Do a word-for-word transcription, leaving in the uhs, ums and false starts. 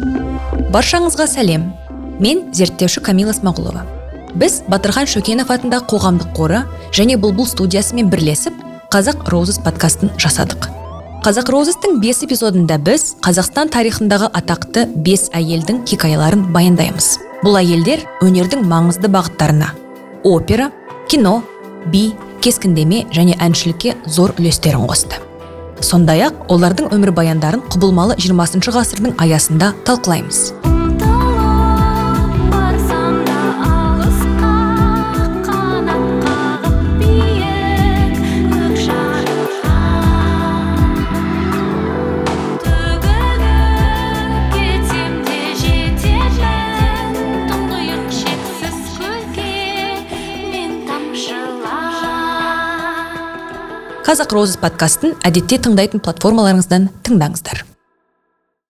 Баршаңызға сәлем. Мен зерттеуші Камила Смағұлова. Біз Батырхан Шөкенов атындағы қоғамдық қоры және Бұлбұл студиясымен бірлесіп Қазақ Роузес подкастын жасадық. Қазақ Роузестің бес эпизодында біз Қазақстан тарихындағы атақты бес әйелдің хикаяларын баяндаймыз. Бұл әйелдер өнердің маңызды бағыттарына опера, кино, би, кескіндеме және әншілікке зор үлестерін қосты. Сондай-ақ олардың өмір баяндарын құбылмалы жиырмасыншы ғасырдың аясында талқылаймыз. Қазақ Роузес подкастын әдетте тыңдайтын платформаларыңыздан тыңдаңыздар.